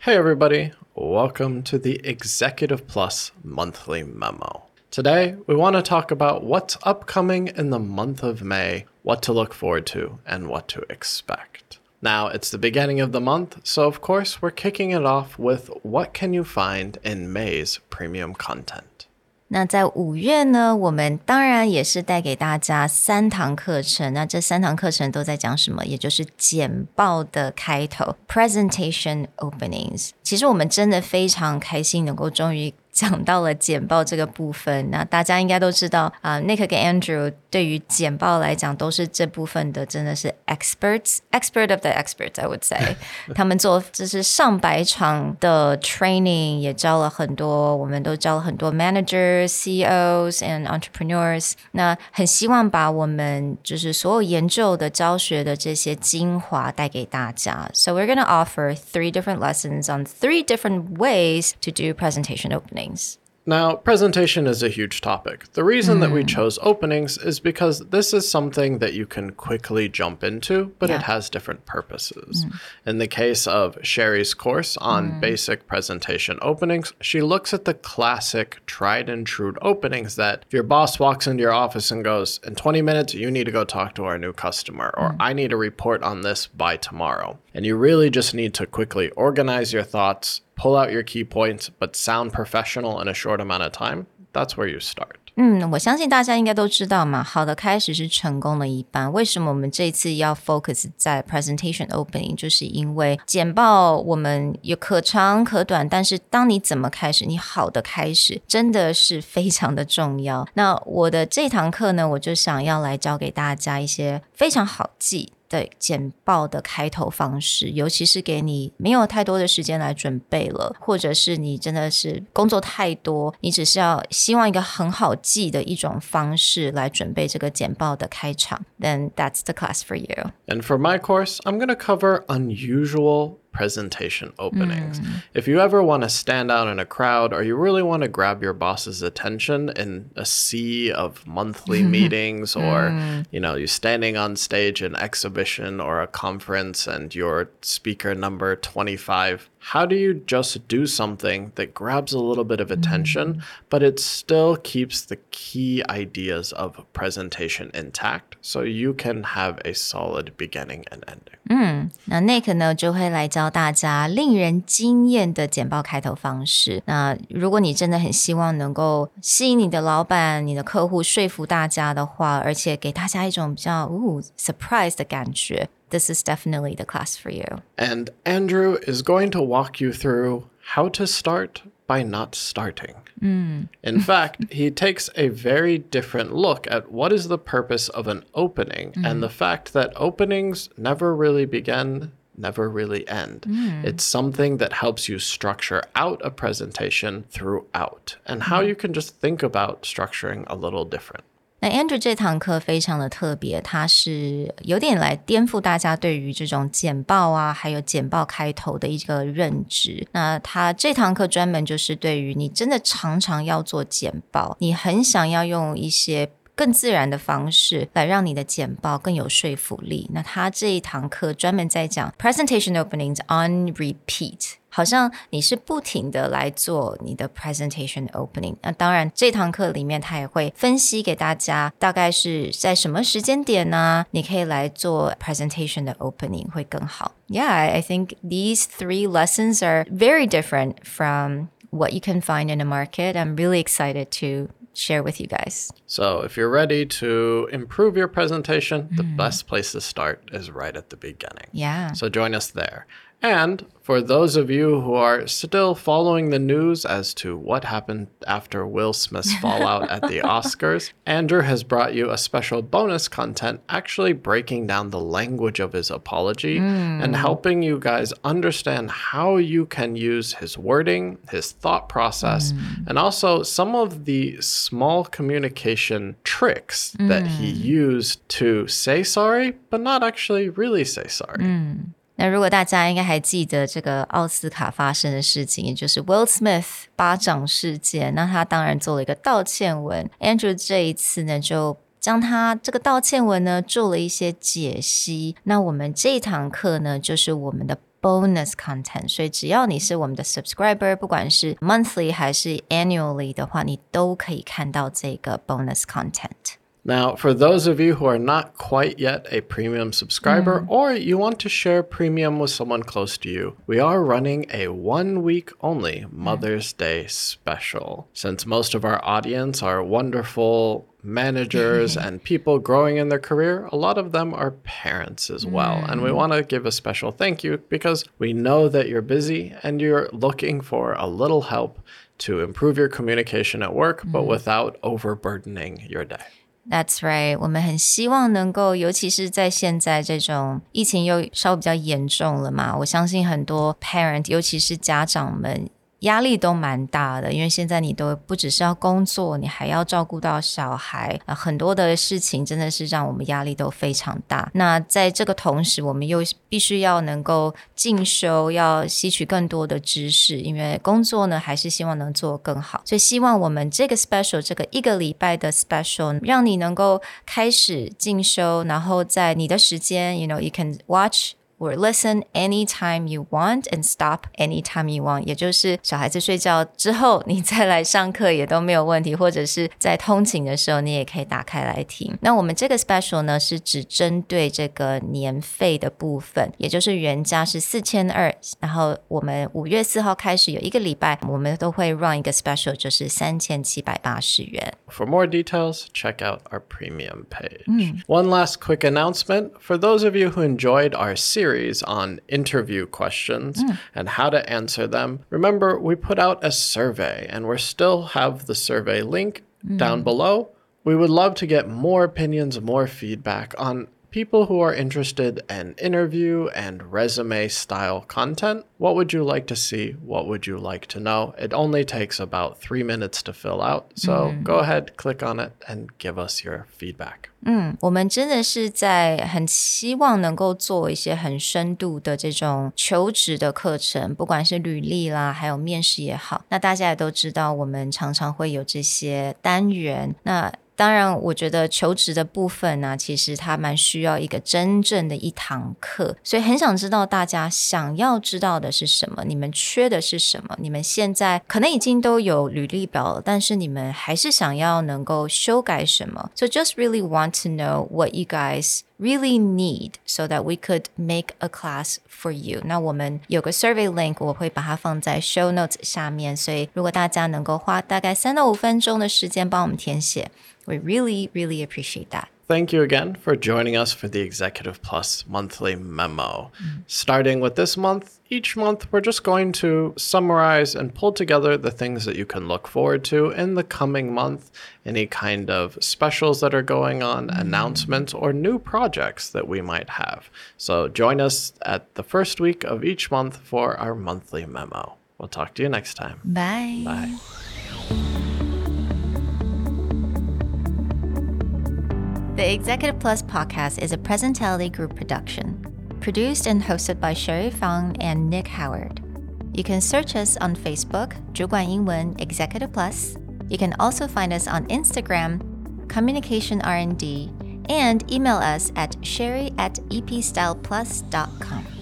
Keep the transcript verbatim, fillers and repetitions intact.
Hey everybody, welcome to the Executive Plus Monthly Memo. Today, we want to talk about what's upcoming in the month of May, what to look forward to, and what to expect. Now, it's the beginning of the month, so of course, we're kicking it off with what can you find in May's premium content. 那在五月呢，我们当然也是带给大家三堂课程。那这三堂课程都在讲什么？也就是简报的开头 Presentation Openings。其实我们真的非常开心能够终于讲到了简报这个部分。那大家应该都知道啊、呃、Nick 跟 Andrew 对于简报来讲都是这部分的真的是 experts expert of the experts I would say 他们做就是上百场的 training 也教了很多，我们都教了很多 managers C E Os and entrepreneurs。 那很希望把我们就是所有研究的教学的这些精华带给大家。 So we're going to offer three different lessons on three different ways to do presentation openings. Now, presentation is a huge topic. The reason mm. that we chose openings is because this is something that you can quickly jump into, but yeah. it has different purposes. Mm. In the case of Sherry's course on mm. basic presentation openings, she looks at the classic tried and true openings that if your boss walks into your office and goes, in twenty minutes, you need to go talk to our new customer, or mm. I need a report on this by tomorrow. And you really just need to quickly organize your thoughts, pull out your key points, but sound professional in a short amount of time. That's where you start. 嗯，我相信大家应该都知道嘛，好的开始是成功的一半。为什么我们这次要 focus 在 presentation opening？ 就是因为简报我们有可长可短，但是当你怎么开始，你好的开始真的是非常的重要。那我的这堂课呢，我就想要来教给大家一些非常好记的简报的开头方式，尤其是给你没有太多的时间来准备了，或者是你真的是工作太多，你只是要希望一个很好记的一种方式来准备这个简报的开场， then that's the class for you. And for my course, I'm going to cover unusual presentation openings. Mm. If you ever want to stand out in a crowd, or you really want to grab your boss's attention in a sea of monthly meetings, or mm. you know, you're standing on stage in an exhibition or a conference and you're speaker number twenty-five, how do you just do something that grabs a little bit of attention, mm. but it still keeps the key ideas of presentation intact so you can have a solid beginning and ending? 嗯，那 Nick 呢就会来教大家令人惊艳的简报开头方式。那如果你真的很希望能够吸引你的老板、你的客户，说服大家的话，而且给大家一种比较ooh, surprise 的感觉， this is definitely the class for you. And Andrew is going to walk you through how to start by not starting. Mm. In fact, he takes a very different look at what is the purpose of an opening mm. and the fact that openings never really begin, never really end. Mm. It's something that helps you structure out a presentation throughout, and how mm. you can just think about structuring a little different. 那 Andrew 这堂课非常的特别，它是有点来颠覆大家对于这种简报啊还有简报开头的一个认知。那他这堂课专门就是对于你真的常常要做简报，你很想要用一些更自然的方式来让你的简报更有说服力，那他这一堂课专门在讲 presentation openings on repeat， 好像你是不停的来做你的 presentation opening。 那当然这堂课里面他也会分析给大家大概是在什么时间点呢你可以来做 presentation 的 opening 会更好。 Yeah, I think these three lessons are very different from what you can find in the market. I'm really excited to share with you guys. So if you're ready to improve your presentation, mm. the best place to start is right at the beginning. Yeah. So join us there. And for those of you who are still following the news as to what happened after Will Smith's fallout at the Oscars, Andrew has brought you a special bonus content actually breaking down the language of his apology mm. and helping you guys understand how you can use his wording, his thought process, mm. and also some of the small communication tricks mm. that he used to say sorry, but not actually really say sorry. Mm. 那如果大家应该还记得这个奥斯卡发生的事情，也就是 Will Smith 巴掌事件，那他当然做了一个道歉文。 Andrew 这一次呢就将他这个道歉文呢做了一些解析。那我们这一堂课呢就是我们的 bonus content， 所以只要你是我们的 subscriber， 不管是 monthly 还是 annually 的话，你都可以看到这个 bonus content。Now, for those of you who are not quite yet a premium subscriber, mm. or you want to share premium with someone close to you, we are running a one-week only Mother's mm. Day special. Since most of our audience are wonderful managers and people growing in their career, a lot of them are parents as well. Mm. And we want to give a special thank you because we know that you're busy and you're looking for a little help to improve your communication at work, mm. but without overburdening your day.That's right. 我们很希望能够，尤其是在现在这种疫情又稍微比较严重了嘛，我相信很多 parent， 尤其是家长们压力都蛮大的，因为现在你都不只是要工作，你还要照顾到小孩，呃、很多的事情真的是让我们压力都非常大。那在这个同时，我们又必须要能够进修，要吸取更多的知识，因为工作呢还是希望能做更好。所以希望我们这个 special， 这个一个礼拜的 special， 让你能够开始进修，然后在你的时间 you know you can watch。or listen anytime you want and stop anytime you want， 也就是小孩子睡觉之后你再来上课也都没有问题，或者是在通勤的时候你也可以打开来听。那我们这个 special 呢是只针对这个年费的部分，也就是原价是四千二百，然后我们五月四号开始有一个礼拜我们都会 run 一个 special， 就是三千七百八十元。 For more details, check out our premium page. Mm. One last quick announcement. For those of you who enjoyed our series on interview questions mm. and how to answer them, remember we put out a survey and we still have the survey link mm. down below. We would love to get more opinions, more feedback on people who are interested in interview and resume style content. What would you like to see? What would you like to know? It only takes about three minutes to fill out. So mm. go ahead, click on it and give us your feedback. 嗯，我们真的是在很希望能够做一些很深度的这种求职的课程，不管是履历啦，还有面试也好。那大家也都知道，我们常常会有这些单元。那当然我觉得求职的部分呢、啊，其实它蛮需要一个真正的一堂课，所以很想知道大家想要知道的是什么，你们缺的是什么，你们现在可能已经都有履历表了，但是你们还是想要能够修改什么。 So just really want to know what you guys really need so that we could make a class for you. 那我们有个 survey link， 我会把它放在 show notes 下面，所以如果大家能够花大概三到五分钟的时间帮我们填写， we really, really appreciate that. Thank you again for joining us for the Executive Plus monthly memo. Mm. Starting with this month, each month we're just going to summarize and pull together the things that you can look forward to in the coming month, any kind of specials that are going on, mm. announcements, or new projects that we might have. So join us at the first week of each month for our monthly memo. We'll talk to you next time. Bye. Bye. The Executive Plus podcast is a Presentality Group production, produced and hosted by Sherry Fang and Nick Howard. You can search us on Facebook, 主管英文 Executive Plus. You can also find us on Instagram, Communication R and D, and email us at sherry at epstyleplus dot com.